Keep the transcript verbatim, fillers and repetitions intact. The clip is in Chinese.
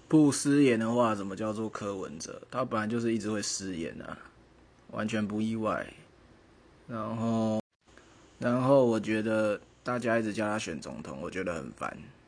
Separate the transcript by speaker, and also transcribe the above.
Speaker 1: 不失言的话，怎么叫做柯文哲？他本来就是一直会失言啊，完全不意外。然后，然后我觉得大家一直叫他选总统，我觉得很烦。